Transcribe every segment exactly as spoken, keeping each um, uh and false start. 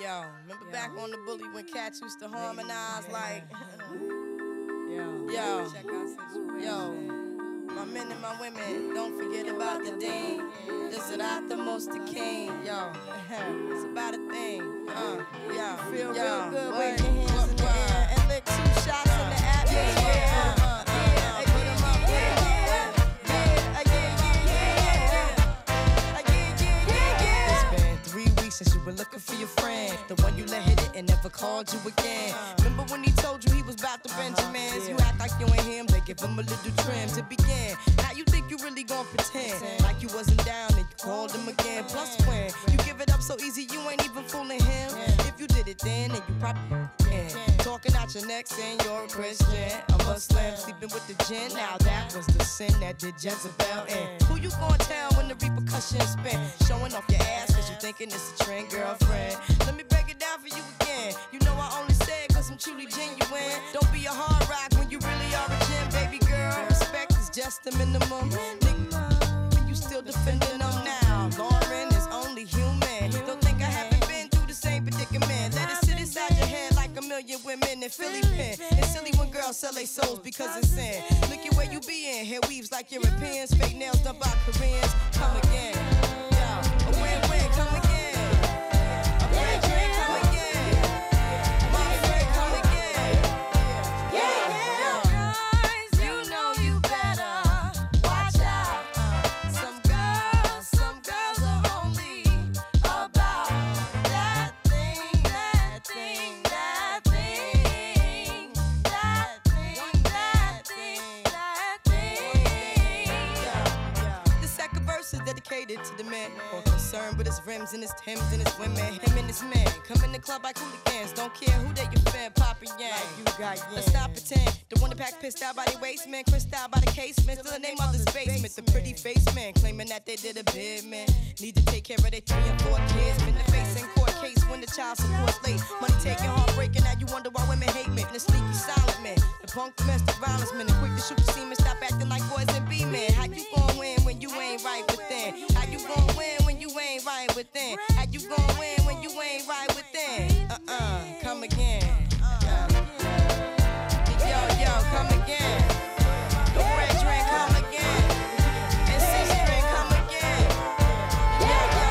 Yo, remember yo. Back on the bully when cats used to harmonize yeah. like Yo, yo, check out situation. Yo, my men and my women, don't forget about the dean. This is the most the king. Yo, it's about a thing. Uh, yo, feel yo, real good. Wave your hands in the air and lick two shots in the atmosphere. Yeah, uh, uh, uh, put 'em up, put 'em up. Yeah, yeah, yeah, yeah, yeah, yeah. It's been three weeks since you were looking for your friend, the one you let hit it and never called you again. Remember when he told you he was about to Benjamins? You act like you ain't him, they give him a little trim to begin. Now you think you really gon' pretend like you wasn't down and you called him again. Plus when you give it up so easy, you ain't even fooling him. If you did it then, then you probably can. Talking out your neck saying you're a Christian, a Muslim, sleeping with the gin. Now that was the sin that did Jezebel in. Who you gon' tell when the repercussions spin? Showing off your ass cause you thinking it's a trend, girlfriend. Let me break it down for you again. You know I only say it cause I'm truly genuine. Don't be a hard rock when you really are a gem, baby girl. Respect is just the minimum. Nigga, you still defending them now. Lauren is only human. Don't think I haven't been through the same predicament. Let it sit inside your head like a million women in Philly pen. It's silly when girls sell their souls because it's sin. Look at where you be in. Hair weaves like Europeans. Fake nails done by Koreans. Come again. Yeah, a win-win. Come again. To the man, more concerned with his rims and his Timbs and his women. Him and his man come in the club like hooligans. Don't care who they your fan, Papa Yang. Like you got yeah. Let's stop pretend. The one that pack pissed out by the waist man, crissed out by the casement. Still the name of the basement. The pretty face man claiming that they did a bid man. Need to take care of their three and four kids. Been the face in court case when the child support's late. Money taking, heartbreaking. Now you wonder why women hate me. The sneaky silent man, the punk domestic violence man, the quick to shoot the semen. Stop acting like boys and be men. How you gon' win when you ain't right within? How you gon' win when you ain't right within? How you gon' win when you ain't right within? Uh-uh, come again. Uh, yo, yo, come again. The red drink, come again. And six drink, come again. Yo, yo,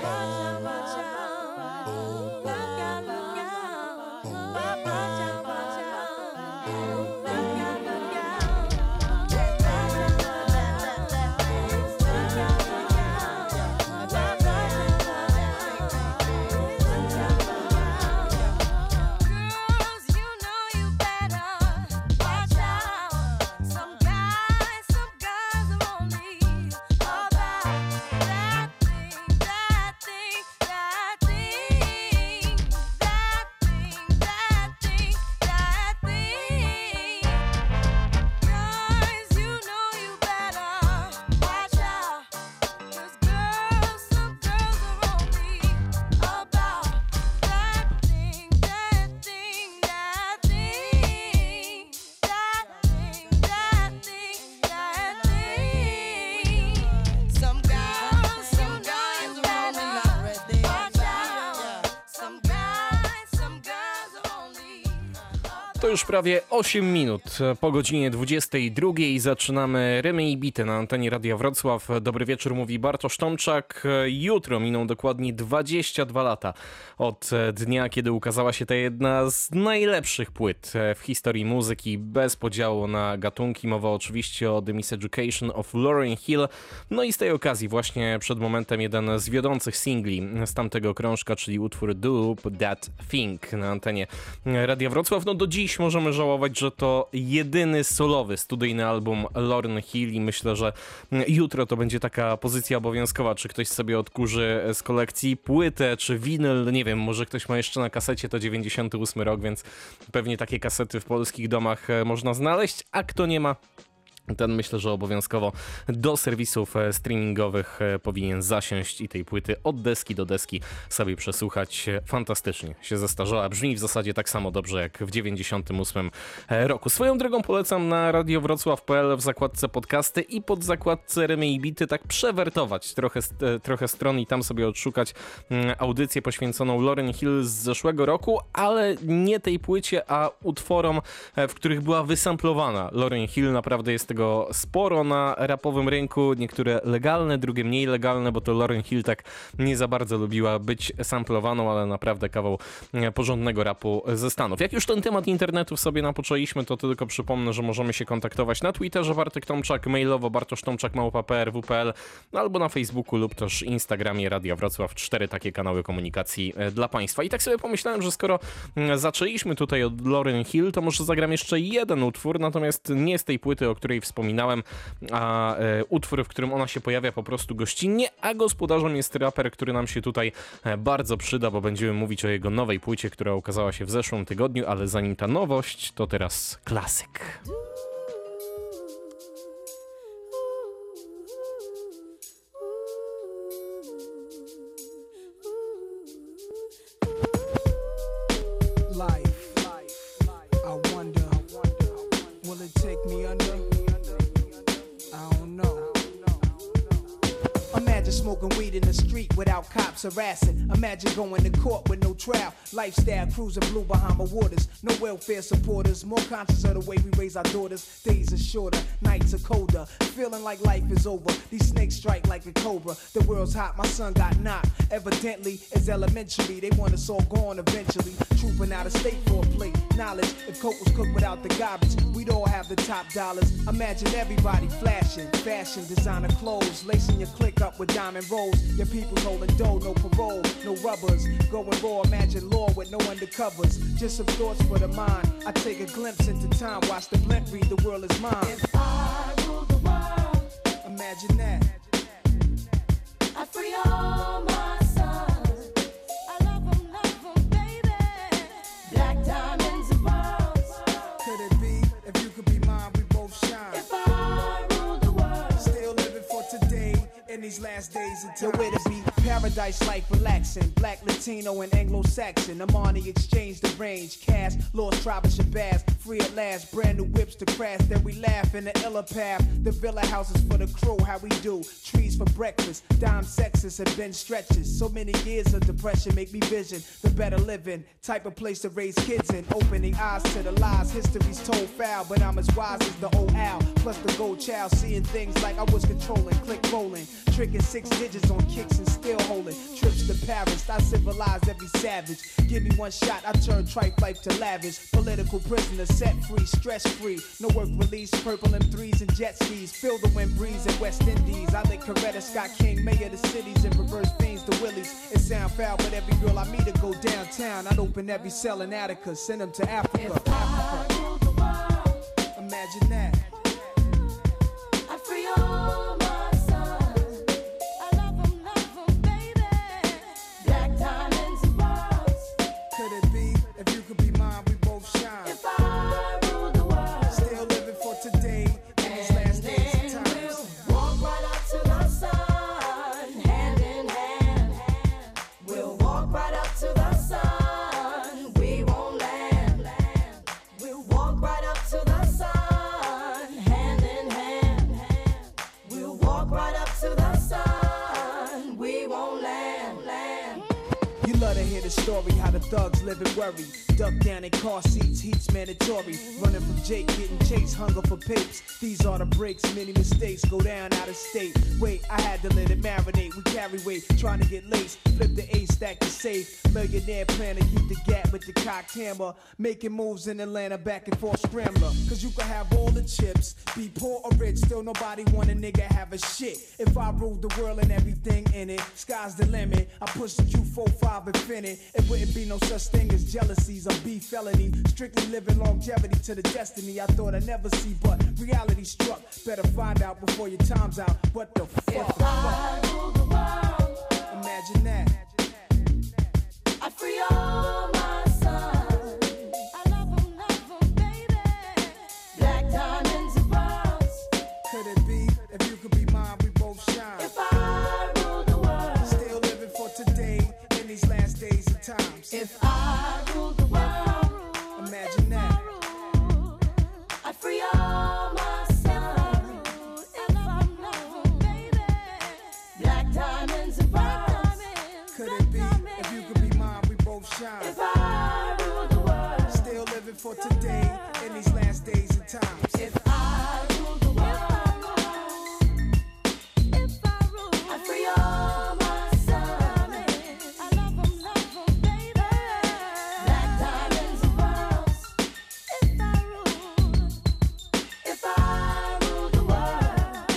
To już prawie osiem minut po godzinie dwudziestej drugiej zaczynamy Rymy i Bity na antenie Radia Wrocław. Dobry wieczór, mówi Bartosz Tomczak. Jutro miną dokładnie dwadzieścia dwa lata od dnia, kiedy ukazała się ta jedna z najlepszych płyt w historii muzyki, bez podziału na gatunki. Mowa oczywiście o The Miseducation of Lauryn Hill. No i z tej okazji właśnie przed momentem jeden z wiodących singli z tamtego krążka, czyli utwór Do That Thing na antenie Radia Wrocław. No do dziś możemy żałować, że to jedyny solowy studyjny album Lauryn Hill i myślę, że jutro to będzie taka pozycja obowiązkowa, czy ktoś sobie odkurzy z kolekcji płytę, czy winyl, nie wiem, może ktoś ma jeszcze na kasecie, to dziewięćdziesiąty ósmy rok, więc pewnie takie kasety w polskich domach można znaleźć, a kto nie ma, ten myślę, że obowiązkowo do serwisów streamingowych powinien zasiąść i tej płyty od deski do deski sobie przesłuchać. Fantastycznie się zestarzała. Brzmi w zasadzie tak samo dobrze jak w dziewięćdziesiątym ósmym roku. Swoją drogą polecam na radio wrocław kropka p l w zakładce podcasty i pod zakładce Rymy i Bity tak przewertować trochę, trochę stron i tam sobie odszukać audycję poświęconą Lauryn Hill z zeszłego roku, ale nie tej płycie, a utworom, w których była wysamplowana Lauryn Hill. Naprawdę jest tego sporo na rapowym rynku, niektóre legalne, drugie mniej legalne, bo to Lauryn Hill tak nie za bardzo lubiła być samplowaną, ale naprawdę kawał porządnego rapu ze Stanów. Jak już ten temat internetów sobie napoczęliśmy, to tylko przypomnę, że możemy się kontaktować na Twitterze Bartek Tomczak, mailowo bartosztomczak małpa p r w kropka p l, no albo na Facebooku lub też Instagramie Radia Wrocław. Cztery takie kanały komunikacji dla Państwa. I tak sobie pomyślałem, że skoro zaczęliśmy tutaj od Lauryn Hill, to może zagram jeszcze jeden utwór, natomiast nie z tej płyty, o której wspominałem, a e, utwór, w którym ona się pojawia po prostu gościnnie, a gospodarzem jest raper, który nam się tutaj e, bardzo przyda, bo będziemy mówić o jego nowej płycie, która ukazała się w zeszłym tygodniu, ale zanim ta nowość, to teraz klasyk. Smoking weed in the street without cops harassing. Imagine going to court with no trial. Lifestyle cruising blue Bahama waters. No welfare supporters. More conscious of the way we raise our daughters. Days are shorter, nights are colder. Feeling like life is over. These snakes strike like a cobra. The world's hot, my son got knocked. Evidently, it's elementary. They want us all gone eventually. Trooping out of state for a plate. Knowledge, if coke was cooked without the garbage, we'd all have the top dollars. Imagine everybody flashing. Fashion, designer clothes. Lacing your click up with diamond rolls. Your people holding dough, no parole, no rubbers. Going raw, imagine law with no undercovers. Just some thoughts for the mind. I take a glimpse into time, watch the blimp read, the world is mine. If I rule the world, imagine that. I free all my sons. I love them, love them, baby. Black diamonds and pearls. Could it be, if you could be mine, we both shine. If I rule the world, still living for today. In these last days until where to be paradise life relaxing. Black, Latino, and Anglo-Saxon. Amani exchange the range. Cash, lost tribe of Shabazz. Free at last, brand new whips to crash. Then we laugh in the illa path. The villa houses for the crew, how we do. Trees for breakfast. Dime sexes and bench stretches. So many years of depression make me vision the better living. Type of place to raise kids in. Opening eyes to the lies. History's told foul, but I'm as wise as the old owl. Plus the gold child, seeing things like I was controlling. Click rolling. Tricking six digits on kicks and still holding. Trips to Paris, I civilize every savage. Give me one shot, I turn tripe life to lavish. Political prisoner, set free, stress free. No work release, purple M threes and jet skis. Feel the wind breeze in West Indies. I lick Coretta Scott King, mayor of the cities, and reverse fiends to Willies. It sound foul, but every girl I meet to go downtown. I'd open every cell in Attica, send them to Africa. if I rule the world, Imagine that. I free all my sons. I love them, love them, baby. Black diamonds and pearls. Could it be, if you could be mine, we both shine. If I rule the world, Still living for today, in these last days and then times. we'll walk right up to the sun, hand in hand. We'll walk right up to the sun. We won't land. We'll walk right up to the sun, hand in hand. We'll walk right up to the sun. We won't land. land. You love to hear the story, how the thugs live and worry. Duck down in car seats, heat's mandatory. Running from Jake, getting chased, hunger for papes. These are the breaks, many mistakes go down out of state. Wait, I had to let it marinate. We carry weight, trying to get laced. Flip the A, stack the safe. Millionaire plan to keep the gap with the cocked hammer. Making moves in Atlanta, back and forth scrambler. Cause you can have all the chips, be poor or rich, still nobody want a nigga have a shit. If I ruled the world and everything in it, sky's the limit. I push the Q forty-five infinite. It wouldn't be no such thing as jealousies or beef felony. Strictly living longevity to the destiny I thought I'd never see, but reality struck. Better find out before your time's out. What the fuck? If I rule the world, Imagine that. I free all my sons. I love them, love them, baby. Black diamonds and pearls. If I ruled the world, Imagine that. I'd free all my sons. If I'm not, baby, black diamonds and pearls. Could it be if you could be mine, we both shine? If I ruled the world, Still living for today in these last days and times. if I ruled the world, if I ruled, I'd free all my sons. I love 'em, love 'em, baby. Black diamonds and pearls. If I ruled, if I ruled the world,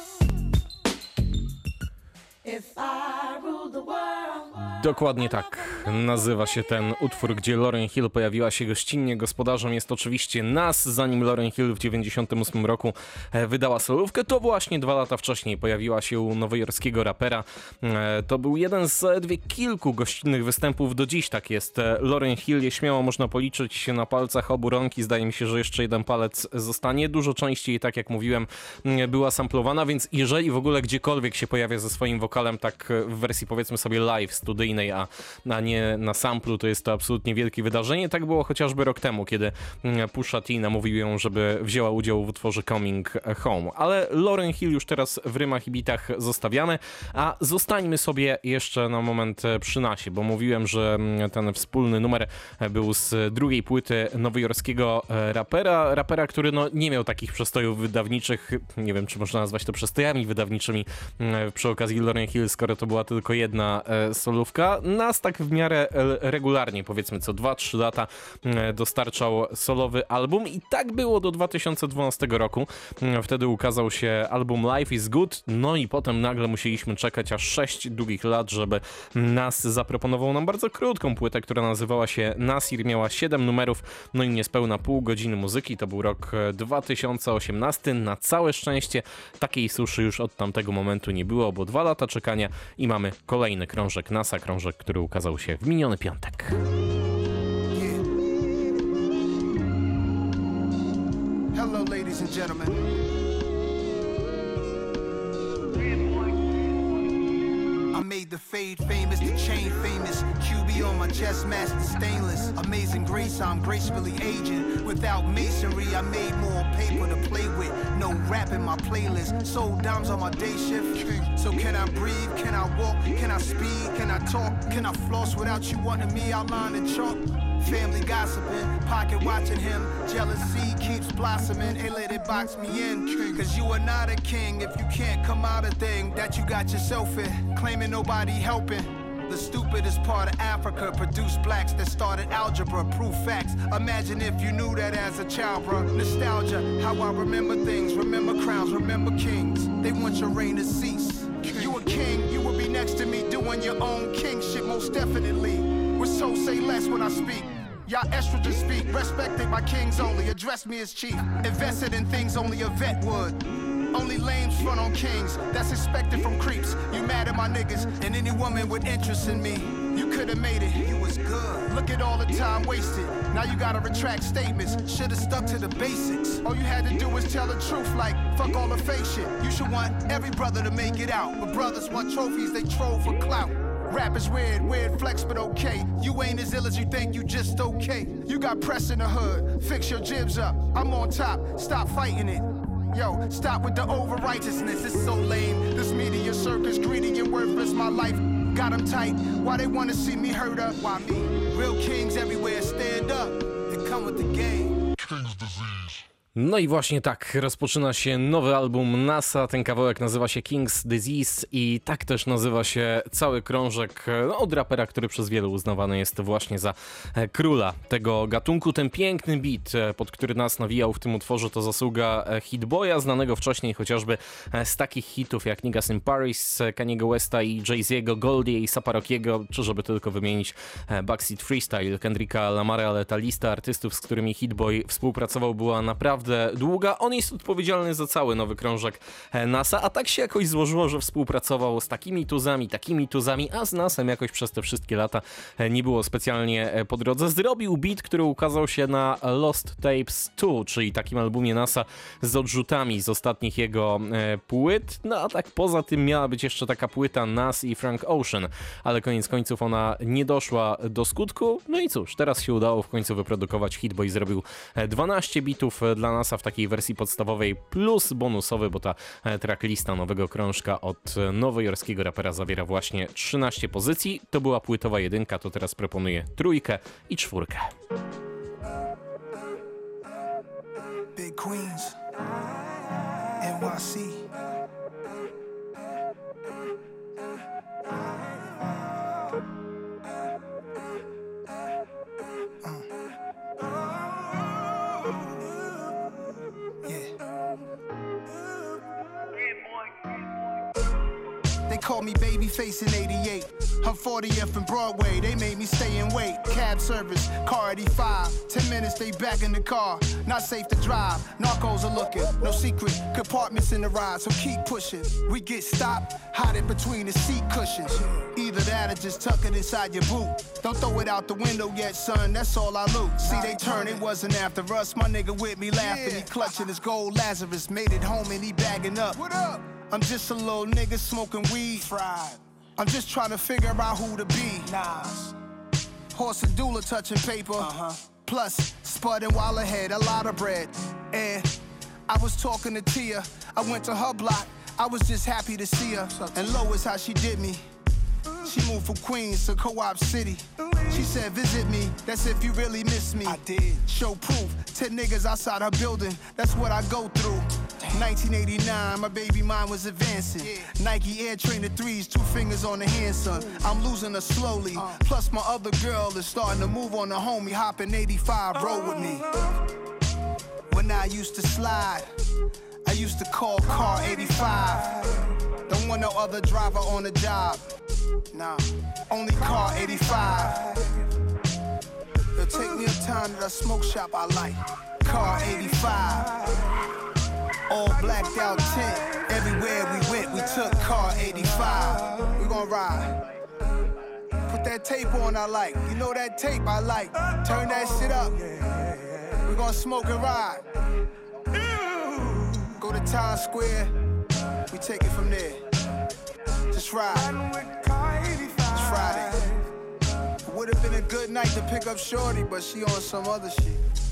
if I ruled the world. Dokładnie tak nazywa się ten utwór, gdzie Lauryn Hill pojawiła się gościnnie. Gospodarzem jest oczywiście Nas. Zanim Lauryn Hill w dziewięćdziesiątym ósmym roku e, wydała solówkę, to właśnie dwa lata wcześniej pojawiła się u nowojorskiego rapera. E, to był jeden z zaledwie kilku gościnnych występów. Do dziś tak jest. E, Lauryn Hill je śmiało można policzyć się na palcach obu rąk i zdaje mi się, że jeszcze jeden palec zostanie. Dużo częściej, tak jak mówiłem, m, była samplowana, więc jeżeli w ogóle gdziekolwiek się pojawia ze swoim wokalem, tak e, w wersji powiedzmy sobie live, studyjnej, A, a nie na samplu, to jest to absolutnie wielkie wydarzenie. Tak było chociażby rok temu, kiedy Pusha T namówił ją, żeby wzięła udział w utworze Coming Home. Ale Lauryn Hill już teraz w rymach i bitach zostawiamy, a zostańmy sobie jeszcze na moment przy Nasie, bo mówiłem, że ten wspólny numer był z drugiej płyty nowojorskiego rapera, rapera, który no, nie miał takich przestojów wydawniczych, nie wiem, czy można nazwać to przestojami wydawniczymi przy okazji Lauryn Hill, skoro to była tylko jedna solówka. Nas tak w miarę regularnie, powiedzmy co dwa trzy lata dostarczał solowy album i tak było do dwa tysiące dwunastego roku. Wtedy ukazał się album Life is Good, no i potem nagle musieliśmy czekać aż sześć długich lat, żeby Nas zaproponował nam bardzo krótką płytę, która nazywała się Nasir, miała siedem numerów, no i niespełna pół godziny muzyki. To był rok dwa tysiące osiemnasty. Na całe szczęście takiej suszy już od tamtego momentu nie było, bo dwa lata czekania i mamy kolejny krążek Nasa, krążek, który ukazał się w miniony piątek. Hello, ladies and gentlemen. I made the fade famous, the chain famous. Q B on my chest, master stainless. Amazing grace, I'm gracefully aging. Without masonry, I made more paper to play with. No rap in my playlist. Sold dimes on my day shift. So can I breathe? Can I walk? Can I speed? Can I talk? Can I floss without you wanting me outlined in chalk? Family gossiping, pocket watching him. Jealousy keeps blossoming. Hey, let it box me in. Cause you are not a king if you can't come out a thing that you got yourself in. Claiming nobody helping. The stupidest part of Africa produced blacks that started algebra, proof facts. Imagine if you knew that as a child, bro. Nostalgia, how I remember things. Remember crowns, remember kings. They want your reign to cease. You a king, you will be next to me doing your own king shit, most definitely. With so say less when I speak. Y'all estrogen speak, respected by kings only. Address me as chief. Invested in things only a vet would. Only lames front on kings, that's expected from creeps. You mad at my niggas, and any woman with interest in me. You could've made it, you was good. Look at all the time wasted. Now you gotta retract statements. Should've stuck to the basics. All you had to do was tell the truth, like fuck all the fake shit. You should want every brother to make it out. But brothers want trophies, they troll for clout. Rap is weird, weird flex, but okay. You ain't as ill as you think, you just okay. You got press in the hood, fix your jibs up. I'm on top, stop fighting it. Yo, stop with the over-righteousness, it's so lame. This media circus, greedy and worthless, my life got them tight. Why they wanna see me hurt up? Why me? Real kings everywhere, stand up and come with the game. King's disease. No i właśnie tak rozpoczyna się nowy album Nasa. Ten kawałek nazywa się King's Disease i tak też nazywa się cały krążek no, od rapera, który przez wielu uznawany jest właśnie za króla tego gatunku. Ten piękny beat, pod który nas nawijał w tym utworze, to zasługa Hit Boya, znanego wcześniej chociażby z takich hitów jak Niggas in Paris, Kaniego Westa i Jay-Z'ego, Goldie i Saparokiego, czy żeby tylko wymienić Backseat Freestyle, Kendricka Lamara, ale ta lista artystów, z którymi Hit Boy współpracował, była naprawdę naprawdę długa. On jest odpowiedzialny za cały nowy krążek NASA, a tak się jakoś złożyło, że współpracował z takimi tuzami, takimi tuzami, a z NASem jakoś przez te wszystkie lata nie było specjalnie po drodze. Zrobił beat, który ukazał się na Lost Tapes dwa, czyli takim albumie NASA z odrzutami z ostatnich jego płyt. No a tak poza tym miała być jeszcze taka płyta Nas i Frank Ocean, ale koniec końców ona nie doszła do skutku. No i cóż, teraz się udało w końcu wyprodukować hit, bo i zrobił dwanaście bitów dla NASA w takiej wersji podstawowej plus bonusowy, bo ta tracklista nowego krążka od nowojorskiego rapera zawiera właśnie trzynaście pozycji. To była płytowa jedynka, to teraz proponuję trójkę i czwórkę. Big Queens, N Y C. They called me Babyface in eighty-eight. I'm fortieth and Broadway, they made me stay and wait. Cab service, car eighty-five. Ten minutes, they back in the car. Not safe to drive, narcos are looking. No secret, compartments in the ride, so keep pushing. We get stopped, hide it between the seat cushions. Either that or just tuck it inside your boot. Don't throw it out the window yet, son, that's all I loot. See, they turn, it wasn't after us. My nigga with me laughing, he clutching his gold. Lazarus made it home and he bagging up. What up? I'm just a little nigga smoking weed. Fried. I'm just trying to figure out who to be. Nas. Horse and doula touching paper. Uh-huh. Plus, spudding while ahead, a lot of bread. And I was talking to Tia. I went to her block. I was just happy to see her. And Lois, how she did me. She moved from Queens to Co-op City. She said, visit me, that's if you really miss me. I did. Show proof, ten niggas outside her building, that's what I go through. nineteen eighty-nine, my baby mind was advancing. Yeah. Nike Air Trainer threes, two fingers on the hand, son. I'm losing her slowly. Uh. Plus my other girl is starting to move on the homie, hopping eighty-five, roll with me. When I used to slide, I used to call car eighty-five. Don't want no other driver on the job. Nah, only car eighty-five. It'll take me a time to the smoke shop I like. Car eighty-five. All blacked out tent. Everywhere we went, we took car eighty-five. We gon' ride. Put that tape on I like. You know that tape I like. Turn that shit up. We gon' smoke and ride. Go to Times Square. We take it from there. Just ride. It's Friday. It would've been a good night to pick up Shorty, but she on some other shit.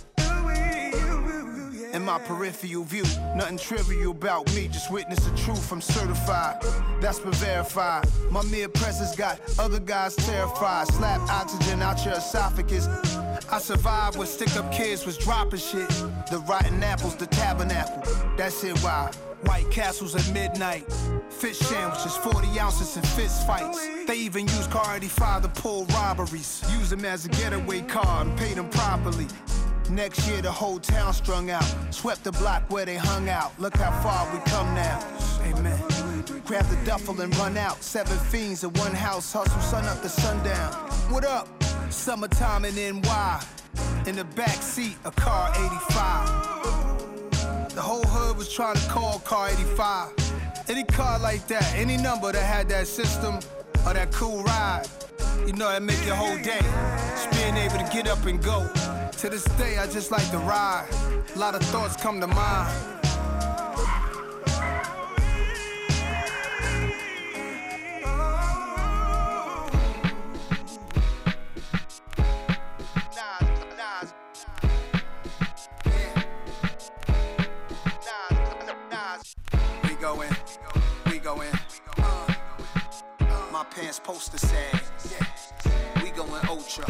In my peripheral view, nothing trivial about me, just witness the truth, I'm certified. That's been verified. My mere presence got other guys terrified. Slap oxygen out your esophagus. I survived when stick-up kids was dropping shit. The rotten apples, the tabernacle. That's it why. White Castles at midnight. Fish sandwiches, forty ounces and fist fights. They even use car eighty-five to pull robberies. Use them as a getaway car and pay them properly. Next year the whole town strung out. Swept the block where they hung out. Look how far we come now. Amen. Grab the duffel and run out. Seven fiends in one house. Hustle sun up to sundown. What up? Summertime in N Y. In the back seat, a car eighty-five. The whole hood was trying to call car eighty-five. Any car like that, any number that had that system or that cool ride, you know that make your whole day. Just being able to get up and go. To this day, I just like to ride. A lot of thoughts come to mind. We go in, we go in. Uh, my pants poster sad. Yeah. We going ultra.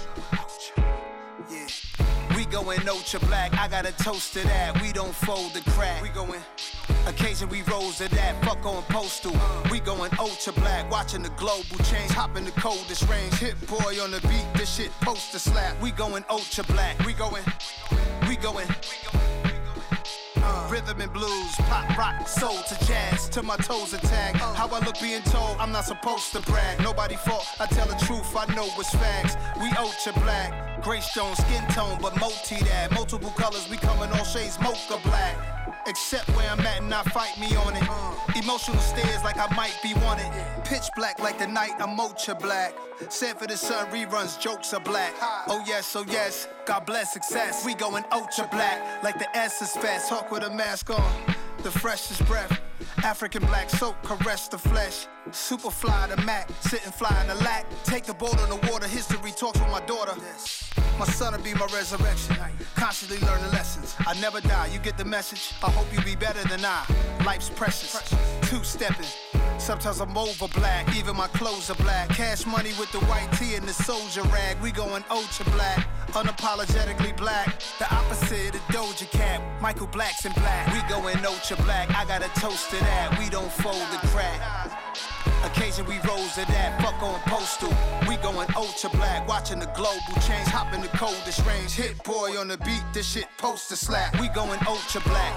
Yeah. We going ultra black. I got a toast to that. We don't fold the crack. We going. Occasion we rose to that. Fuck on postal. We going ultra black. Watching the global change. Hop in the coldest range. Hit boy on the beat. This shit poster slap. We going ultra black. We going. We going. Uh. Rhythm and blues, pop, rock, soul to jazz, till my toes attack. How I look being told, I'm not supposed to brag. Nobody fault, I tell the truth, I know it's facts. We ultra black, gray stone, skin tone, but multi that. Multiple colors, we come in all shades, mocha black. Except where I'm at and not fight me on it. Emotional stares like I might be wanted. Pitch black like the night, I'm ultra black. Sanford and Son reruns, jokes are black. Oh yes, oh yes, God bless success. We going ultra black like the S is fast. Hawk with a mask on, the freshest breath. African black soap, caress the flesh. Super fly the Mac, sitting fly in the lack. Take the boat on the water, history talks with my daughter. My son will be my resurrection. Constantly learning lessons. I never die, you get the message. I hope you be better than I. Life's precious. Two-stepping. Sometimes I'm over black, even my clothes are black. Cash money with the white tee and the soldier rag. We going ultra black, unapologetically black. The opposite of Doja Cat, Michael Black's in black. We going ultra black, I got a toast to that. We don't fold the crack. Occasion we rose to that, fuck on postal. We going ultra black, watching the global change. Hop in the coldest range, hit boy on the beat, this shit poster slap. We going ultra black.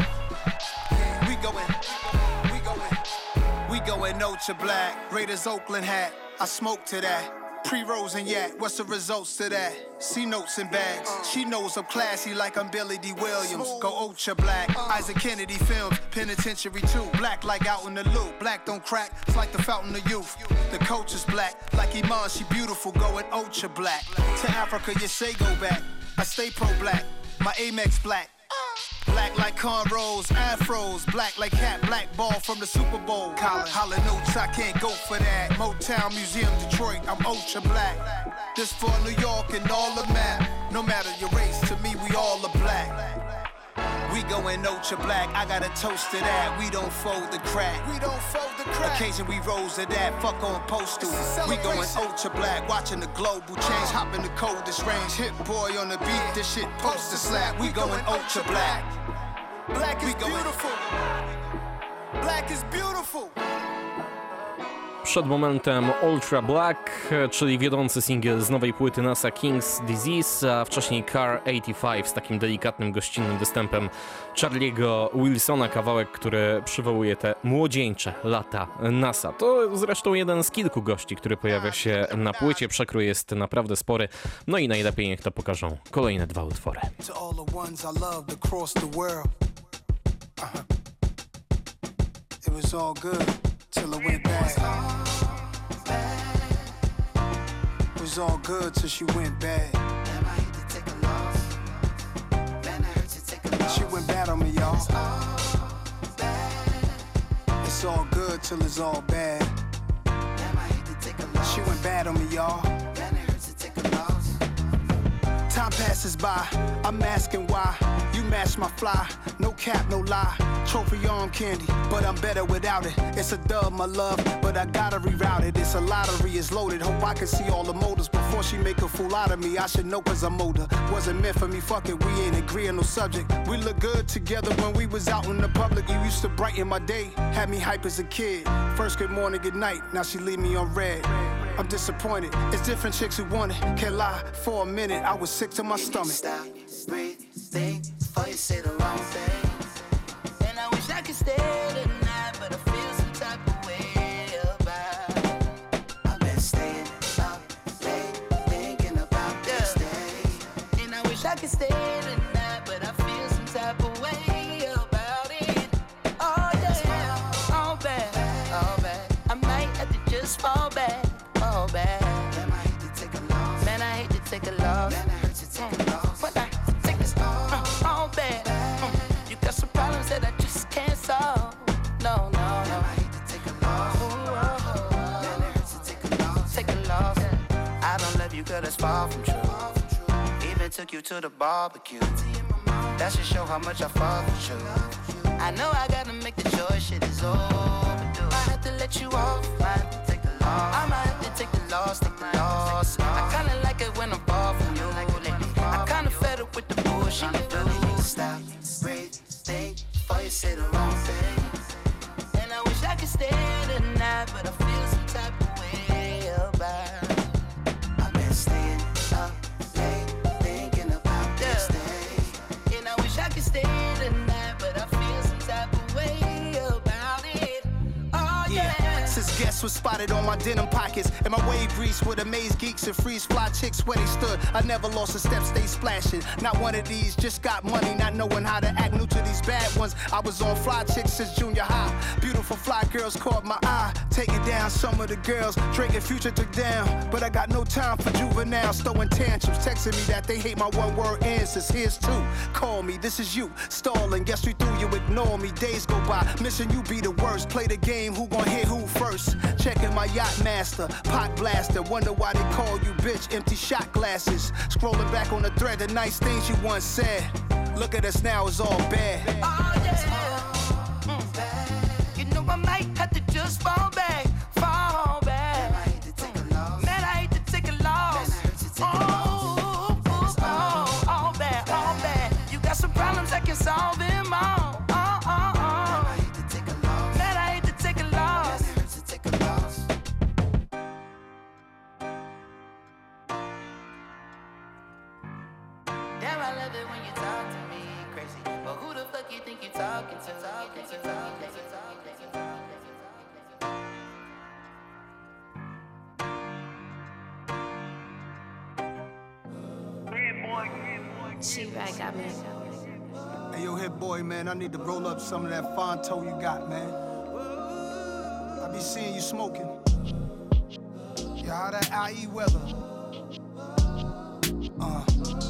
We going, we going, we going ultra black. Raiders Oakland hat, I smoke to that. Pre-rolls and yak, what's the results to that? C notes and bags. She knows I'm classy like I'm Billy D. Williams. Go ultra black. Isaac Kennedy films, penitentiary too. Black like out in the loop. Black don't crack, it's like the fountain of youth. The coach is black, like Iman, she beautiful, going ultra black. To Africa, you say go back. I stay pro-black, my Amex black. Black like cornrows, afros, black like Cat Black Ball from the Super Bowl. Colin, holla notes, I can't go for that. Motown Museum, Detroit, I'm ultra black. This for New York and all the map. No matter your race, to me we all are black. We going ultra black, I got a toast to that. We don't fold the crack. We don't fold the crack. Occasion we rose to that, fuck on postal. We going ultra black, watching the global change. Hop in the coldest range, hit boy on the beat, this shit poster slap. We going ultra black. Black is beautiful. Black is beautiful. Przed momentem Ultra Black, czyli wiodący singiel z nowej płyty NASA King's Disease, a wcześniej Car osiemdziesiąt pięć z takim delikatnym, gościnnym występem Charlie'ego Wilsona, kawałek, który przywołuje te młodzieńcze lata NASA. To zresztą jeden z kilku gości, który pojawia się na płycie. Przekrój jest naprawdę spory, no i najlepiej niech to pokażą kolejne dwa utwory. Till it went bad. It was all good till she went bad. Man, I hate to take a loss. Man, I hurt to take a loss. She went bad on me, y'all. It's all good till it's all bad. Man, I hate to take a loss. She went bad on me, y'all. Man, I hurt to take a loss. Time passes by, I'm asking why. You match my fly, no cap, no lie. Trophy arm candy, but I'm better without it. It's a dub, my love, but I gotta reroute it. It's a lottery, it's loaded. Hope I can see all the motives before she make a fool out of me. I should know cause I'm older. Wasn't meant for me, fuck it, we ain't agreeing no subject. We look good together when we was out in the public. You used to brighten my day, had me hype as a kid. First good morning, good night, now she leave me on red. I'm disappointed, it's different chicks who want it. Can't lie, for a minute I was sick to my stomach. Stop, breathe, think, before you say the wrong thing. And I wish I could stay tonight, but I feel some type of way about. I've been staying up late, thinking about this day. And I wish I could stay tonight, but I feel some type of way about it. Oh yeah, all bad, all bad. I might have to just fall back, fall back. Man, I hate to take a loss. Man, I hate to take a loss. Man, I hurt to take a loss. But I take this uh, all bad. Mm. You got some problems that I just can't solve. No, no, no. Man, I hate to take a loss. Ooh, oh, oh. Man, it hurts to take a loss. Take a loss. I don't love you 'cause that's far from true. Even took you to the barbecue. That should show how much I fuck with you. I know I gotta make the choice, shit is overdue. I have to let you off, I have to take the loss. I might have to take the loss, take the loss. I kinda like it when I'm far from you. I kinda fed up with the bullshit you do. Stop, breathe, think, before you say the wrong thing. And I wish I could stay tonight, but I feel some type of way about. I've been staying up late, thinking about this day. And I wish I could stay tonight, but I feel some was spotted on my denim pockets. And my wave grease would amaze geeks and freeze fly chicks where they stood. I never lost a step, stay splashing. Not one of these, just got money, not knowing how to act. New to these bad ones. I was on fly chicks since junior high. Beautiful fly girls caught my eye. Taking down some of the girls, drinking Future took down. But I got no time for juveniles, throwing tantrums, texting me that they hate my one word answers. Here's two, call me, this is you, stalling. Guess we through you, ignore me. Days go by, missing you be the worst. Play the game, who gon' hit who first? Checking my yacht master, pot blaster. Wonder why they call you bitch, empty shot glasses. Scrolling back on the thread, the nice things you once said. Look at us now, it's all bad. Oh yeah, mm. You know I might have to just fall back, fall back. Man, I hate to take a loss. Man, I hate to take a loss. Man, I hate to take a loss. Oh, oh, oh, all bad, all bad. You got some problems, I can solve them all. Oh, oh, oh. Man, I hate to take a loss. Man, I hate to take a loss. Man, I hate to take a loss. Damn, I love it when you talk to me crazy. But who the fuck you think you talking to? Talking to, talking to, talking to. She right got me. Hey, yo, Hit Boy, man, I need to roll up some of that Fonto you got, man. I be seeing you smoking. Yeah, how that I E weather? Uh.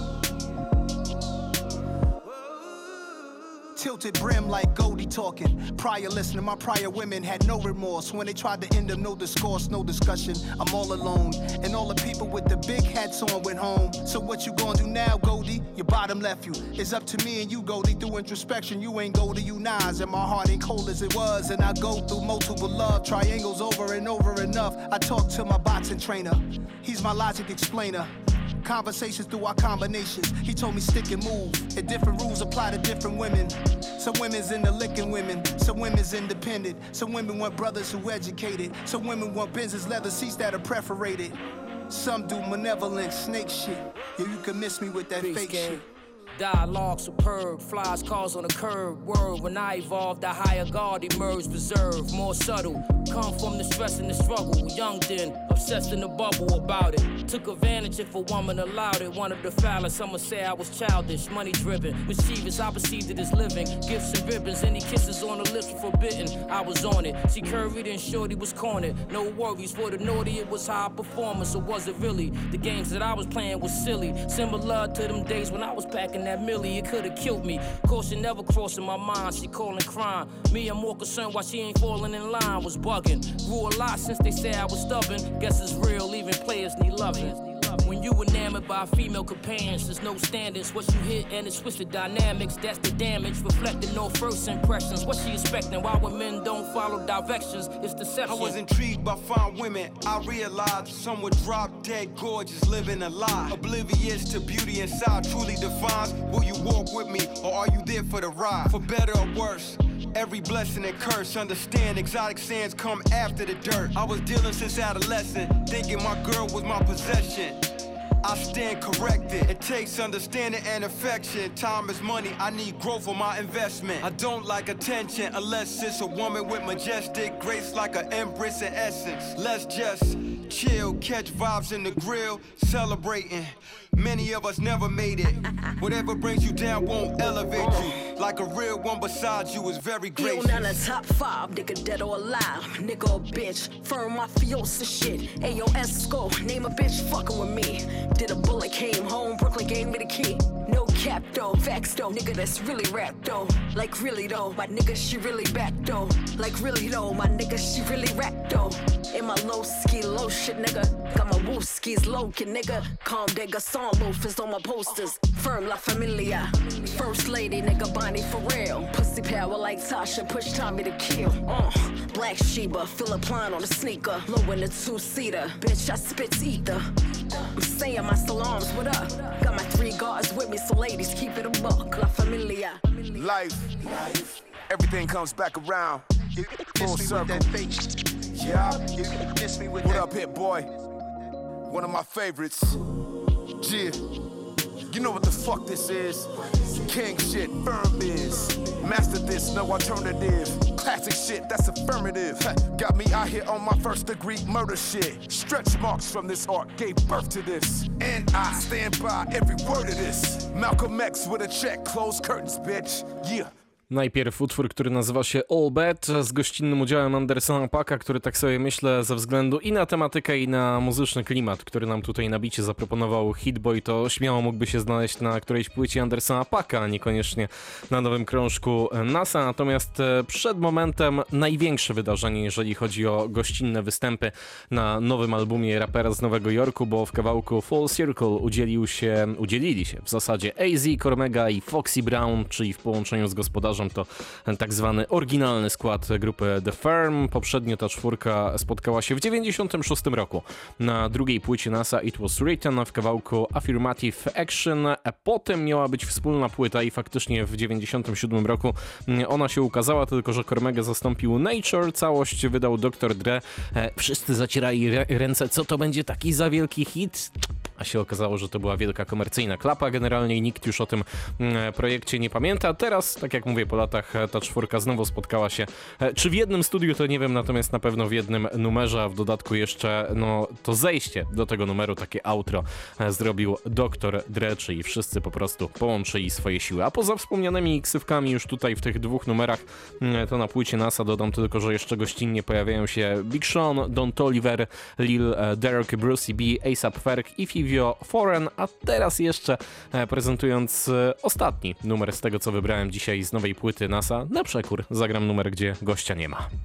Tilted brim like Goldie talking. Prior listening, my prior women had no remorse. When they tried to end them, no discourse, no discussion. I'm all alone. And all the people with the big hats on went home. So what you gonna do now, Goldie? Your bottom left you. It's up to me and you, Goldie. Through introspection, you ain't Goldie, you Nas. And my heart ain't cold as it was. And I go through multiple love triangles over and over enough. I talk to my boxing trainer. He's my logic explainer. Conversations through our combinations. He told me stick and move. And different rules apply to different women. Some women's into licking women. Some women's independent. Some women want brothers who educated. Some women want Benz's leather seats that are perforated. Some do malevolent snake shit. Yeah, you can miss me with that Peace fake game. shit. Dialogue superb, flies cars on the curb. Word, when I evolved, the higher guard emerged, reserved, more subtle. Come from the stress and the struggle. Young then, obsessed in the bubble about it. Took advantage if a woman allowed it. Wanted to foul it, some would say I was childish, money driven. Mischievous, I perceived it as living. Gifts and ribbons, any kisses on the lips were forbidden. I was on it. She curried and shorty was cornered. No worries for the naughty, it was high performance, or was it really? The games that I was playing was silly. Similar to them days when I was packing that millie, it could've killed me. Caution never crossing my mind, she calling crime. Me, I'm more concerned why she ain't falling in line, was bugging. Grew a lot since they said I was stubborn. Guess it's real, even players need loving. When you enamored by female companions, there's no standards. What you hit and it's twisted dynamics, that's the damage. Reflecting no first impressions. What she expecting? Why when men don't follow directions? It's deception. I was intrigued by fine women. I realized some would drop dead gorgeous, living a lie. Oblivious to beauty inside truly defines. Will you walk with me or are you there for the ride? For better or worse, every blessing and curse. Understand exotic sands come after the dirt. I was dealing since adolescent, thinking my girl was my possession. I stand corrected. It takes understanding and affection. Time is money, I need growth for my investment. I don't like attention unless it's a woman with majestic grace like an empress in essence. Let's just chill, catch vibes in the grill, celebrating. Many of us never made it. Whatever brings you down won't elevate you. Like a real one besides you is very gracious. You on the top five, nigga dead or alive. Nigga or bitch, firm mafiosa shit. Ayo Esco, name a bitch fucking with me. Did a bullet, came home, Brooklyn gave me the key. No cap though, facts though, nigga that's really rap though. Like really though, my nigga she really back though. Like really though, my nigga she really rap though. In my low ski, low shit nigga. Got my woo skis low kid nigga. Calm de garçon loafers on my posters. Firm La Familia. First lady nigga Bonnie for real. Pussy power like Tasha, push Tommy to kill. Uh, Black Sheba, Philip Line on the sneaker. Low in the two-seater, bitch I spit ether. I'm saying my salams, what up? Got my three guards with me, so ladies keep it a buck. La Familia. Life, life, everything comes back around. You Full miss me circle. with that face. Yeah. You miss me with What that. up, Hit Boy? One of my favorites. Yeah. You know what the fuck this is. King shit, firm is. Master this, no alternative. Classic shit, that's affirmative. Got me out here on my first degree murder shit. Stretch marks from this art gave birth to this. And I stand by every word of this. Malcolm X with a check, close curtains, bitch. Yeah. Najpierw utwór, który nazywa się All Bad, z gościnnym udziałem Andersona Paaka, który tak sobie myślę ze względu i na tematykę, i na muzyczny klimat, który nam tutaj na bicie zaproponował Hitboy, to śmiało mógłby się znaleźć na którejś płycie Andersona Paaka, a niekoniecznie na nowym krążku NASA. Natomiast przed momentem największe wydarzenie, jeżeli chodzi o gościnne występy na nowym albumie rapera z Nowego Jorku, bo w kawałku Full Circle udzielił się, udzielili się w zasadzie A Z, Cormega i Foxy Brown, czyli w połączeniu z gospodarzem to tak zwany oryginalny skład grupy The Firm. Poprzednio ta czwórka spotkała się w dziewięćdziesiątym szóstym roku na drugiej płycie NASA It Was Written w kawałku Affirmative Action. A potem miała być wspólna płyta i faktycznie w dziewięćdziesiątym siódmym roku ona się ukazała, tylko że Cormega zastąpił Nature, całość wydał doktor Dre. Wszyscy zacierali ręce, co to będzie taki za wielki hit? A się okazało, że to była wielka komercyjna klapa generalnie i nikt już o tym projekcie nie pamięta. Teraz, tak jak mówię, po latach ta czwórka znowu spotkała się, czy w jednym studiu, to nie wiem, natomiast na pewno w jednym numerze, a w dodatku jeszcze no to zejście do tego numeru, takie outro zrobił doktor Dre, czyli wszyscy po prostu połączyli swoje siły. A poza wspomnianymi ksywkami już tutaj w tych dwóch numerach, to na płycie NASA dodam tylko, że jeszcze gościnnie pojawiają się Big Sean, Don Toliver, Lil Durk, Brucey B, A$ap Ferg i Fivio Foreign, a teraz jeszcze prezentując ostatni numer z tego, co wybrałem dzisiaj z nowej płyty NASA, na przekór zagram numer, gdzie gościa nie ma.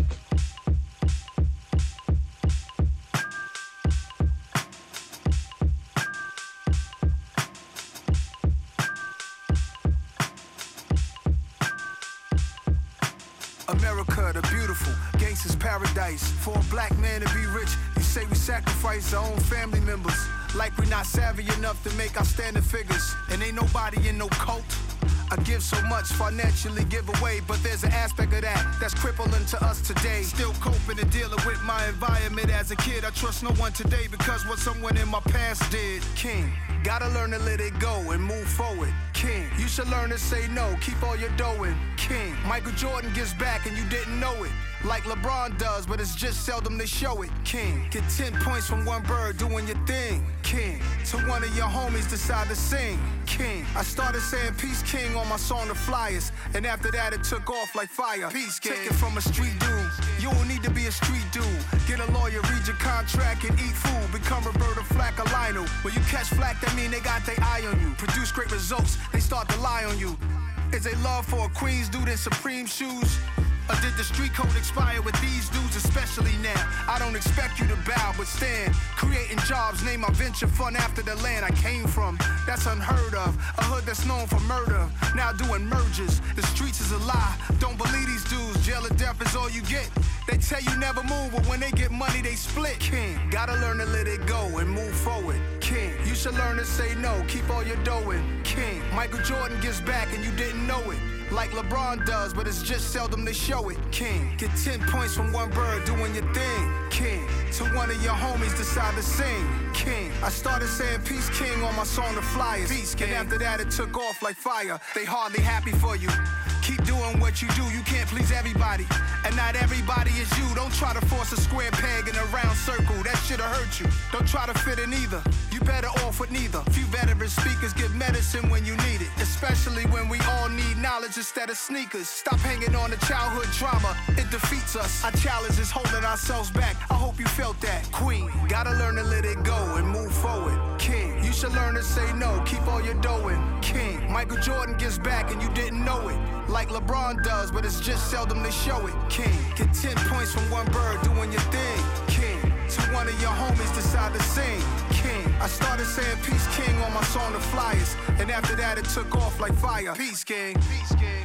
America, the beautiful, gangsters paradise. For a black man to be rich, you say we sacrifice our own family members. Like we not savvy enough to make outstanding figures. And ain't nobody in no cult. I give so much, financially give away, but there's an aspect of that that's crippling to us today. Still coping and dealing with my environment as a kid. I trust no one today because what someone in my past did. King, gotta learn to let it go and move forward. King, you should learn to say no, keep all your dough in. King, Michael Jordan gives back and you didn't know it. Like LeBron does, but it's just seldom they show it. King, get ten points from one bird doing your thing. King, to one of your homies decide to sing. King, I started saying Peace King on my song The Flyers, and after that it took off like fire. Peace King, take it from a street dude. You don't need to be a street dude. Get a lawyer, read your contract, and eat food. Become Roberta Flack or Lionel. When you catch flack, that mean they got their eye on you. Produce great results, they start to lie on you. Is a love for a Queens dude in Supreme shoes? Or did the street code expire with these dudes, especially now? I don't expect you to bow, but stand. Creating jobs, name my venture fund after the land I came from. That's unheard of. A hood that's known for murder, now doing mergers. The streets is a lie. Don't believe these dudes. Jail or death is all you get. They tell you never move, but when they get money, they split. King, gotta learn to let it go and move forward. King, you should learn to say no, keep all your dough in. King, Michael Jordan gives back and you didn't know it. Like LeBron does, but it's just seldom they show it. King, get ten points from one bird doing your thing. King, to one of your homies decide to sing. King, I started saying Peace King on my song The Flyers. Peace King. And after that it took off like fire. They hardly happy for you. Keep doing what you do, you can't please everybody. And not everybody is you. Don't try to force a square peg in a round circle. That shit'll hurt you. Don't try to fit in either. You better off with neither. Few veteran speakers give medicine when you need it. Especially when we all need knowledge instead of sneakers. Stop hanging on to childhood trauma. It defeats us. Our challenge is holding ourselves back. I hope you felt that. Queen, gotta learn to let it go and move forward. King, you should learn to say no. Keep all your dough in. King, Michael Jordan gives back and you didn't know it. Like LeBron does, but it's just seldom they show it. King, get ten points from one bird doing your thing. King, to one of your homies decide to sing. King, I started saying Peace King on my song The Flyers, and after that it took off like fire. Peace King, Peace King.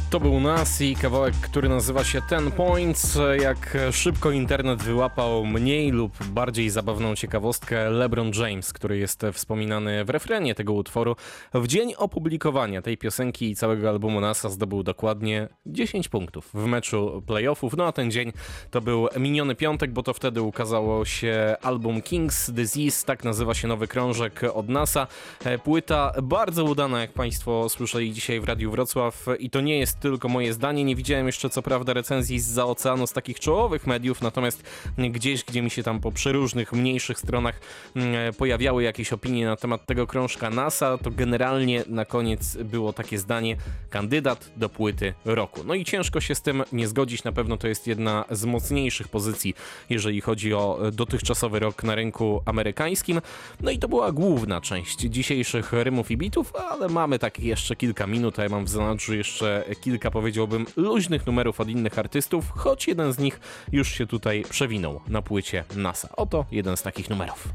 To był Nas i kawałek, który nazywa się Ten Points. Jak szybko internet wyłapał mniej lub bardziej zabawną ciekawostkę, LeBron James, który jest wspominany w refrenie tego utworu, w dzień opublikowania tej piosenki i całego albumu Nasa zdobył dokładnie dziesięć punktów w meczu playoffów. No a ten dzień to był miniony piątek, bo to wtedy ukazało się album King's Disease, tak nazywa się nowy krążek od Nasa. Płyta bardzo udana, jak Państwo słyszeli dzisiaj w Radiu Wrocław, i to nie jest tylko moje zdanie. Nie widziałem jeszcze co prawda recenzji zza oceanu z takich czołowych mediów, natomiast gdzieś, gdzie mi się tam po przeróżnych, mniejszych stronach pojawiały jakieś opinie na temat tego krążka Nasa, to generalnie na koniec było takie zdanie: kandydat do płyty roku. No i ciężko się z tym nie zgodzić, na pewno to jest jedna z mocniejszych pozycji, jeżeli chodzi o dotychczasowy rok na rynku amerykańskim. No i to była główna część dzisiejszych rymów i bitów, ale mamy tak jeszcze kilka minut, a ja mam w zanadrzu jeszcze kilka, powiedziałbym, luźnych numerów od innych artystów, choć jeden z nich już się tutaj przewinął na płycie Nasa. Oto jeden z takich numerów.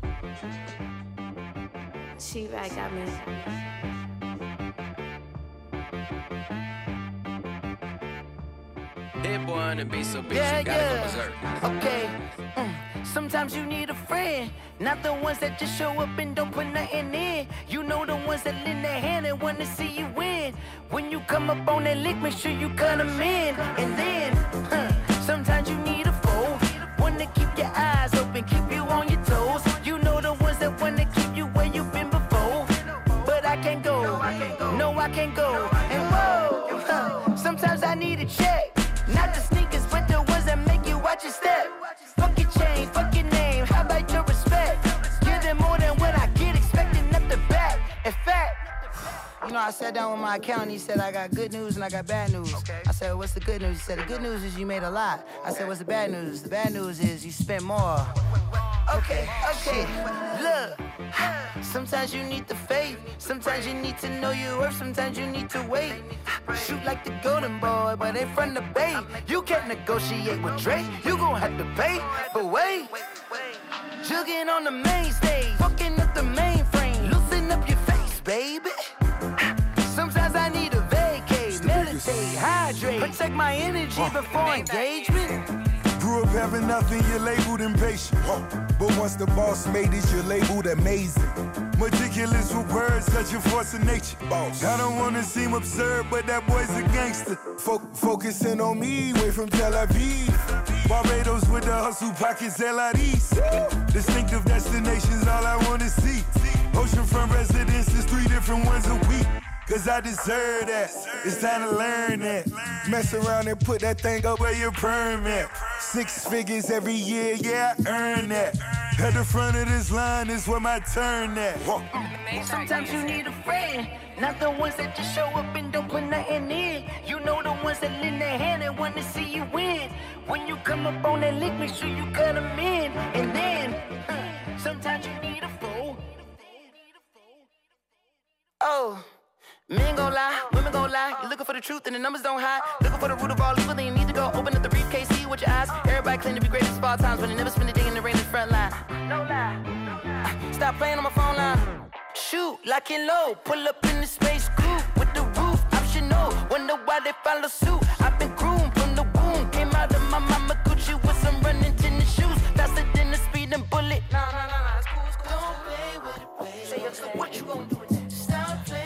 Yeah, yeah. Okay. Mm. Sometimes you need a friend, not the ones that just show up and don't put nothing in. You know, the ones that lend their hand and want to see you win. When you come up on that lick, make sure you cut them in. And then, huh, sometimes you need a foe, one to keep your eyes open, keep you on your toes. You know, the ones that want to keep you where you've been before. But I can't go, no, I can't go. And whoa, huh, sometimes I need a check. Not the sneakers, but the ones that make you watch your step. Fuck your chain, fuck your name, how about your respect? Give them more than what I get, expecting up the back. In fact, you know, I sat down with my accountant, he said I got good news and I got bad news. Okay. I said, what's the good news? He said, the good news is you made a lot. I said, what's the bad news? The bad news is you spent more. Okay, okay, look, sometimes you need the faith, sometimes you need to know your worth, sometimes you need to wait. Shoot like the golden boy, but in front of the bay. You can't negotiate with Drake, you gon' have to pay. But wait, jugging on the main stage, fucking up the mainframe, loosen up your face, baby. Sometimes I need a vacate, meditate, hydrate, protect my energy before engagement. Grew up having nothing, you're labeled impatient. But once the boss made it, you're labeled amazing. Meticulous with words, such a force of nature. Boss. I don't wanna seem absurd, but that boy's a gangster. Fo- focusing on me, way from Tel Aviv. Barbados with the hustle pockets, L I Ds. Distinctive destinations, all I wanna see. Oceanfront residences, three different ones a week. Cause I deserve that, it's time to learn that. Mess around and put that thing up where your permit. Six figures every year, yeah, I earn that. At the front of this line is where my turn at. Sometimes you need a friend, not the ones that just show up and don't put nothing in. You know, the ones that lend their hand and want to see you win. When you come up on that lick, make sure you cut them in. And then, huh, sometimes you need a foe. Oh. Men gon' lie, women gon' lie. You're looking for the truth and the numbers don't hide. Looking for the root of all evil, then you need to go open up the briefcase, see with your eyes. Everybody claim to be greatest of all times, but they never spend a day in the rain in the front line. No lie. Uh, stop playing on my phone line. Shoot, lock it low. Pull up in the space coupe with the roof optional. Wonder why they follow suit. I've been groomed from the womb. Came out of my mama Gucci with some running tennis shoes. Faster than the speeding bullet. Nah, nah, nah, nah. It's cool, it's cool. Don't play with it, baby. Say so what you gon' do with that? Stop playing.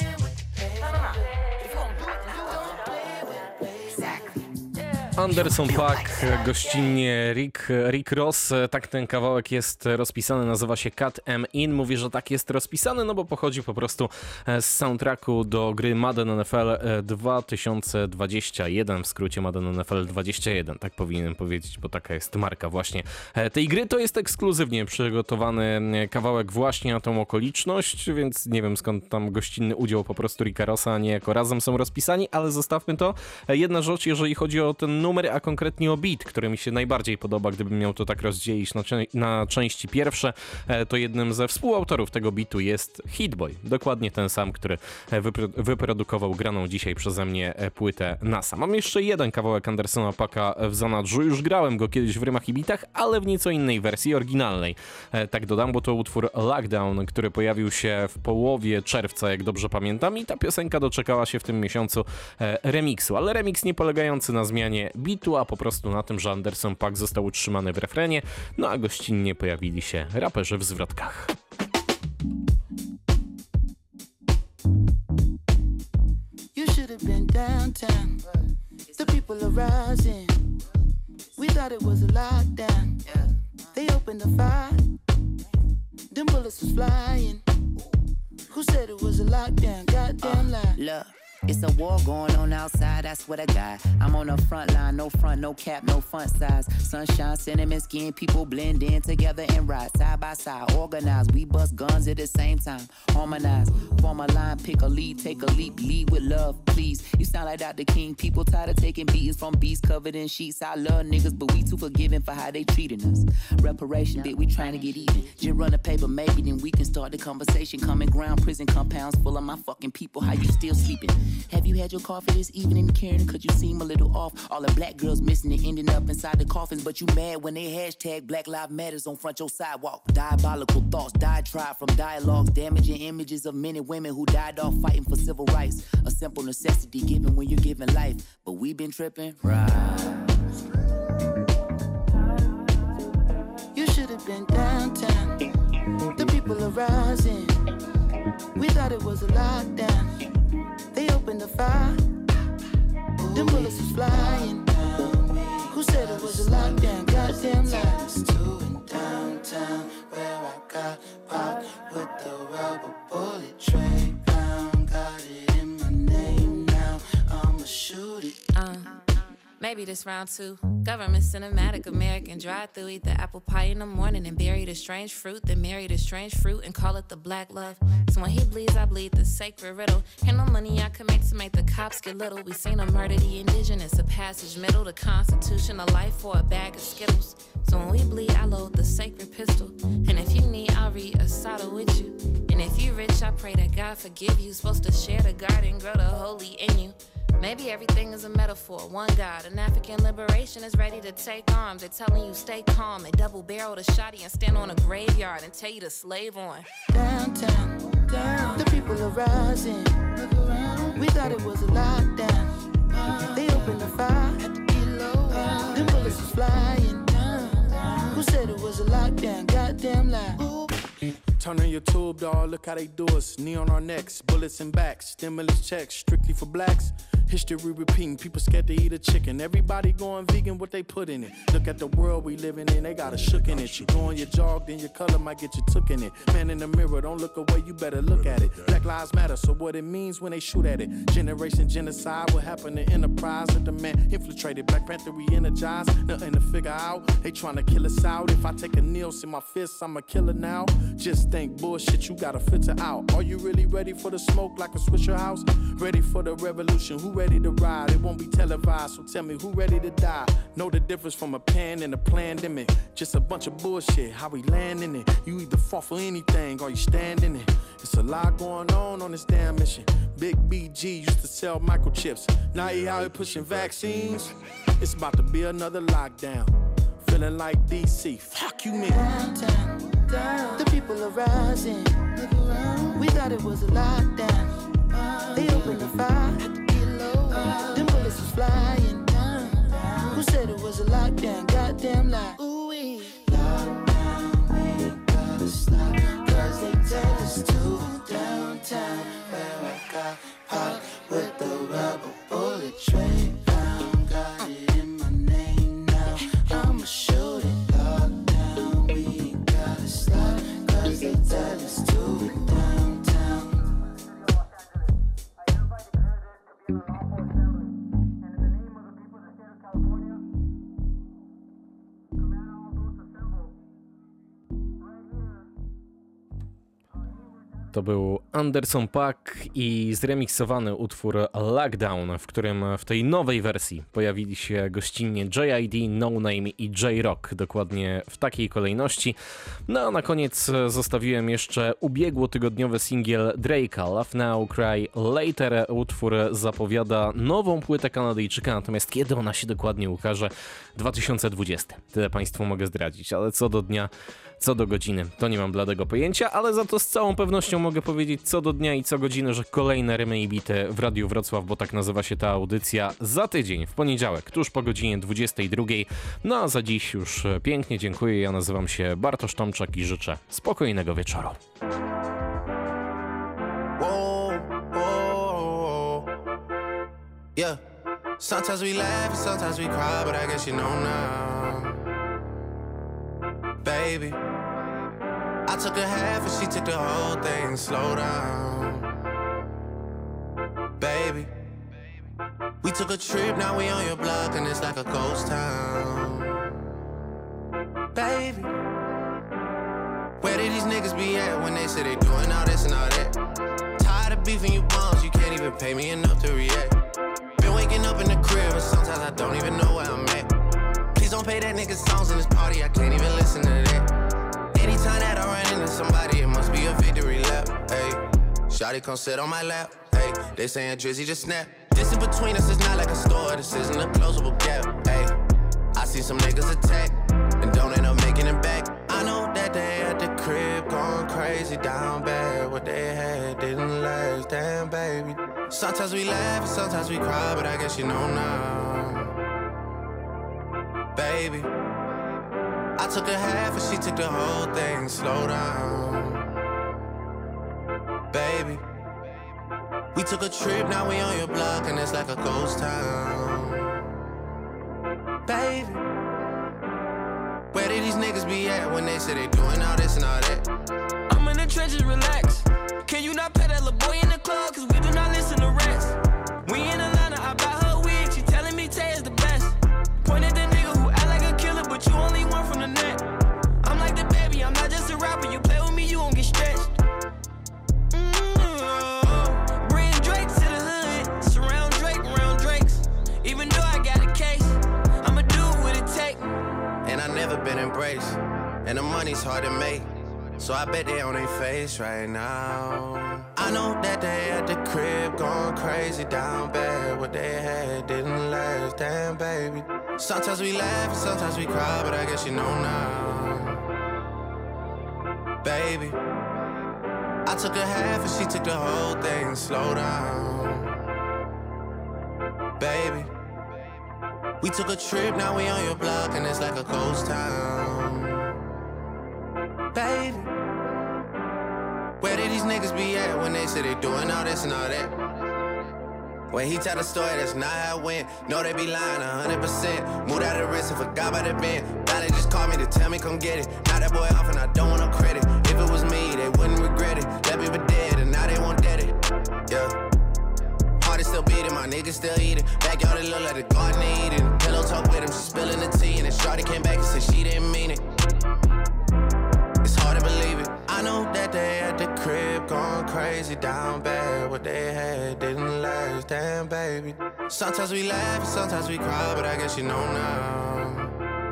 Anderson .Paak, gościnnie Rick, Rick Ross, tak ten kawałek jest rozpisany, nazywa się Cut Em In. Mówię, że tak jest rozpisany, no bo pochodzi po prostu z soundtracku do gry Madden N F L dwa tysiące dwadzieścia jeden, w skrócie Madden N F L dwadzieścia jeden, tak powinienem powiedzieć, bo taka jest marka właśnie tej gry. To jest ekskluzywnie przygotowany kawałek właśnie na tą okoliczność, więc nie wiem skąd tam gościnny udział po prostu Ricka Rossa, a nie jako razem są rozpisani, ale zostawmy to. Jedna rzecz, jeżeli chodzi o ten numer, a konkretnie o beat, który mi się najbardziej podoba, gdybym miał to tak rozdzielić na, na części pierwsze, to jednym ze współautorów tego beatu jest Hit-Boy. Dokładnie ten sam, który wypro- wyprodukował graną dzisiaj przeze mnie płytę NASA. Mam jeszcze jeden kawałek Andersona Paaka w zanadrzu. Już grałem go kiedyś w rymach i bitach, ale w nieco innej wersji, oryginalnej. Tak dodam, bo to utwór Lockdown, który pojawił się w połowie czerwca, jak dobrze pamiętam, i ta piosenka doczekała się w tym miesiącu remiksu, ale remix nie polegający na zmianie bitu, a po prostu na tym, że Anderson Paak został utrzymany w refrenie, no a gościnnie pojawili się raperzy w zwrotkach. You should have been downtown. The people are rising. We thought it was a lockdown. They opened the fire. Them bullets was flying. Who said it was a lockdown? Goddamn lie. Look, it's a war going on outside, I swear to God. I'm on the front line, no front, no cap, no front size. Sunshine, cinnamon skin, people blend in together and ride side by side. Organized, we bust guns at the same time. Harmonize, form a line, pick a lead, take a leap, lead with love, please. You sound like Doctor King, people tired of taking beatings from beasts covered in sheets. I love niggas, but we too forgiving for how they treating us. Reparation, bitch, we trying to get even. Just run a paper, maybe then we can start the conversation. Common ground, prison compounds full of my fucking people. How you still sleeping? Have you had your coffee this evening, Karen? Could you seem a little off? All the black girls missing and ending up inside the coffins, but you mad when they hashtag Black Lives Matters on front your sidewalk. Diabolical thoughts, diatribe from dialogues, damaging images of men and women who died off fighting for civil rights. A simple necessity given when you're giving life, but we been tripping. Right. You should have been downtown. The people are rising. We thought it was a lockdown. They opened the fire. Them bullets was flying. Who said it was a lockdown? Goddamn lies. Downtown, where I got popped with the rubber bullet tray down. Got it in my name now. I'ma shoot it. Uh. Maybe this round two. Government cinematic, American drive-through. Eat the apple pie in the morning and bury the strange fruit. Then marry the strange fruit and call it the black love. So when he bleeds, I bleed the sacred riddle. Ain't no money I can make to make the cops get little. We seen him murder the indigenous, a passage middle. The Constitution, a life for a bag of Skittles. So when we bleed, I load the sacred pistol. And if you need, I'll read a Asada with you. And if you rich, I pray that God forgive you. Supposed to share the garden, grow the holy in you. Maybe everything is a metaphor, one God. An African liberation is ready to take arms. They're telling you stay calm. They double barrel the shotty and stand on a graveyard and tell you to slave on. Downtown, down. The people are rising. We thought it was a lockdown. They opened the fire. Them bullets was flying. Who said it was a lockdown? Goddamn lie. Turn on your tube, dog, look how they do us. Knee on our necks, bullets and backs. Stimulus checks, strictly for blacks. History repeating, people scared to eat a chicken. Everybody going vegan, what they put in it. Look at the world we living in, they got a shook in it. You go on your jog, then your color might get you took in it. Man in the mirror, don't look away, you better look at it. Black lives matter, so what it means when they shoot at it. Generation genocide, what happened to enterprise? That the man infiltrated, Black Panther re-energized. Nothing to figure out, they trying to kill us out. If I take a Nils in my fist, I'm a killer now. Just think bullshit, you gotta filter out. Are you really ready for the smoke like a Swisher House? Ready for the revolution, who ready to ride? It won't be televised, so tell me who ready to die? Know the difference from a pan and a pandemic. Just a bunch of bullshit, how we land in it. You either fall for anything or you stand in it. It's a lot going on on this damn mission. Big B G used to sell microchips. Now he out here pushing vaccines. It's about to be another lockdown. Feeling like D C, fuck you man. Downtown, down. The people are rising. We thought it was a lockdown. They opened the fire. Them bullets was flying. Who said it was a lockdown? Goddamn lie. Ooh-wee. Lockdown, we gotta stop. Cause they tell us to. Downtown, where I got popped with the rubber bullet tray. Found, got it in my name now. I'ma shoot it. Lockdown, we gotta stop. Cause they tell us to. Downtown. To był Anderson .Paak i zremiksowany utwór Lockdown, w którym w tej nowej wersji pojawili się gościnnie J I D, No Name i J-Rock, dokładnie w takiej kolejności. No a na koniec zostawiłem jeszcze ubiegłotygodniowy singiel Drake'a, Laugh Now, Cry Later. Utwór zapowiada nową płytę Kanadyjczyka, natomiast kiedy ona się dokładnie ukaże? dwa tysiące dwudziesty. Tyle Państwu mogę zdradzić, ale co do dnia, co do godziny, to nie mam bladego pojęcia, ale za to z całą pewnością mogę powiedzieć co do dnia i co godziny, że kolejne rymy i bity w Radiu Wrocław, bo tak nazywa się ta audycja, za tydzień, w poniedziałek, tuż po godzinie dwudziestej drugiej. No a za dziś już pięknie dziękuję, ja nazywam się Bartosz Tomczak i życzę spokojnego wieczoru. Whoa, whoa, yeah. Sometimes we laugh and sometimes we cry, but I guess you know now, baby. I took a half and she took the whole thing. Slow down, baby. We took a trip, now we on your block and it's like a ghost town, baby. Where did these niggas be at when they say they doing all this and all that? Tired of beefing you bums, you can't even pay me enough to react. Been waking up in the crib and sometimes I don't even know where I'm at. Please don't pay that nigga songs in this party, I can't even listen to that. Anytime that I run into somebody, it must be a victory lap. Hey, shawty come sit on my lap. Hey, they saying Drizzy just snap. Distance between us is not like a store, this isn't a closable gap. Hey, I see some niggas attack and don't end up making it back. I know that they at the crib going crazy down bad. What they had didn't last, damn baby. Sometimes we laugh and sometimes we cry, but I guess you know now, baby. I took a half and she took the whole thing. Slow down, baby. We took a trip, now we on your block and it's like a ghost town, baby. Where did these niggas be at when they say they doing all this and all that? I'm in the trenches, relax. Can you not pay that little boy in the club? Cause we do not listen to rats. We in Atlanta, I buy her wig. She telling me Tay is the best. Point at the nigga who act like a killer, but you only one from the net. I'm like the baby, I'm not just a rapper. You play with me, you gon' get stretched. Mm-hmm. Bring Drake to the hood. Surround Drake around Drakes. Even though I got a case, I'ma do what it take. And I never been embraced, and the money's hard to make, so I bet they on their face right now. I know that they at the crib going crazy down bad. What they had didn't last, damn baby. Sometimes we laugh and sometimes we cry, but I guess you know now, baby. I took a half and she took the whole thing. Slow down, baby. We took a trip, now we on your block and it's like a ghost town, baby. Where did these niggas be at when they say they doing all this and all that? When he tell the story, that's not how it went. No, they be lying one hundred percent. Moved out of the wrist and forgot about the bend. Now they just call me to tell me come get it. Now that boy off and I don't want no credit. If it was me, they wouldn't regret it. That people dead and now they won't dead it. Yeah. Heart is still beating, my niggas still eating. Backyard it look like the garden eating. Pillow talk with him, she spilling the tea. And then shorty came back and said she didn't mean it. It's hard to believe it. I know that they at the crib going crazy down bad. What they had didn't last, damn baby. Sometimes we laugh and sometimes we cry, but I guess you know now,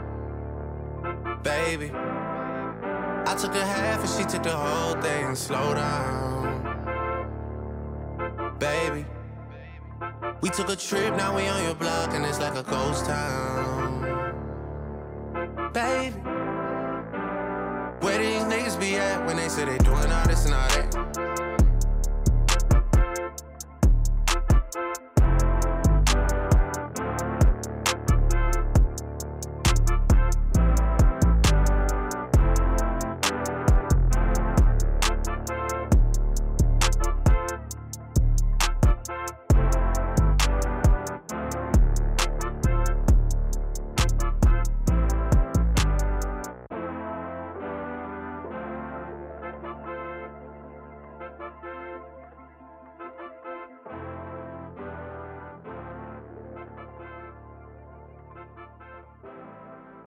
baby. I took a half and she took the whole thing. Slow down, baby. We took a trip, now we on your block and it's like a ghost town, baby. Where these niggas be at when they say they doing all this and all that?